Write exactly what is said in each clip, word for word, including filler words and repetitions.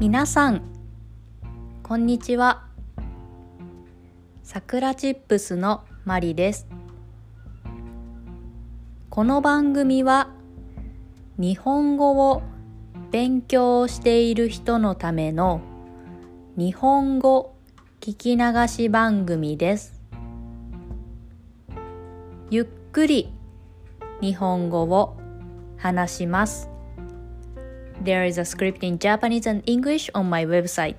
皆さんこんにちは。さくらチップスのマリです。この番組は日本語を勉強している人のための日本語聞き流し番組です。ゆっくり日本語を話します。There is a script in Japanese and English on my website.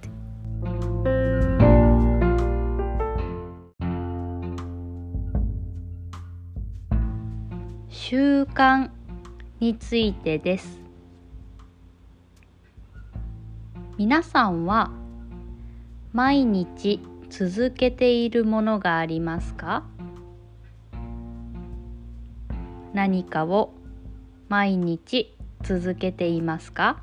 習慣についてです。皆さんは毎日続けているものがありますか？何かを毎日続けていますか？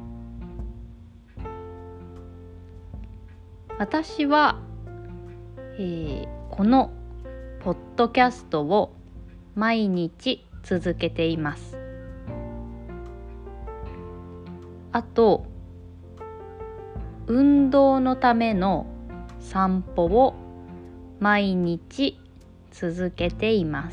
私は、えー、このポッドキャストを毎日続けています。あと、運動のための散歩を毎日続けています。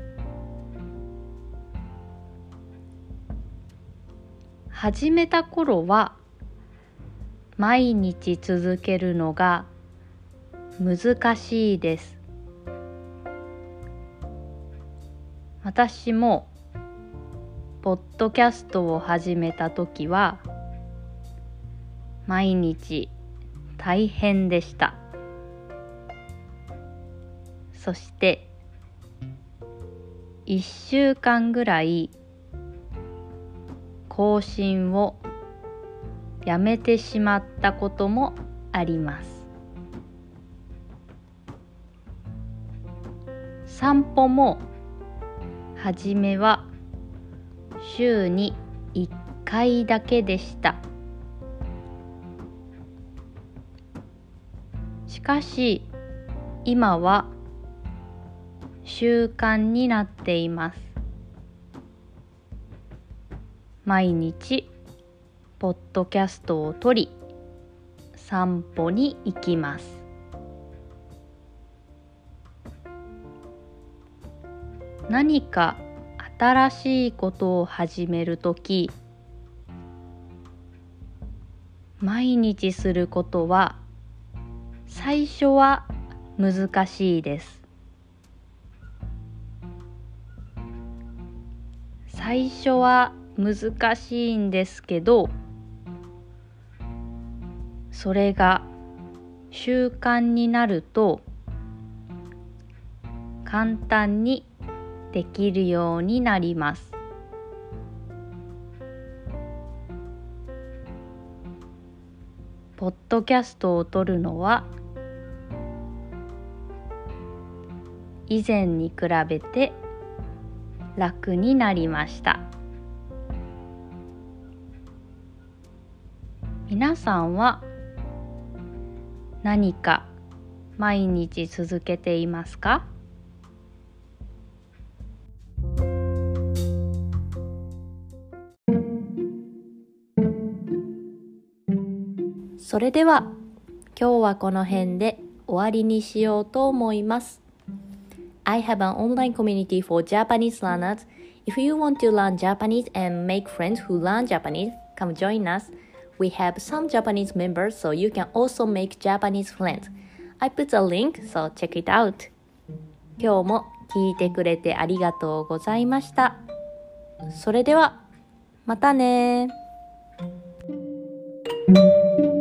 始めた頃は毎日続けるのが難しいです。私もポッドキャストを始めた時は毎日大変でした。そしていっしゅうかんぐらい更新をやめてしまったこともあります。散歩もはじめは週にいっかいだけでした。しかし今は習慣になっています。毎日ポッドキャストを撮り散歩に行きます。何か新しいことを始めるとき、毎日することは最初は難しいです。最初は難しいんですけど、それが習慣になると簡単にできるようになります。ポッドキャストを撮るのは以前に比べて楽になりました。皆さんは何か毎日続けていますか？それでは今日はこの辺で終わりにしようと思います。I have an online community for Japanese learners. If you want to learn Japanese and make friends who learn Japanese, come join us. We have some Japanese members, so you can also make Japanese friends. I put a link, so check it out. 今日も聞いてくれてありがとうございました。それでは、またね。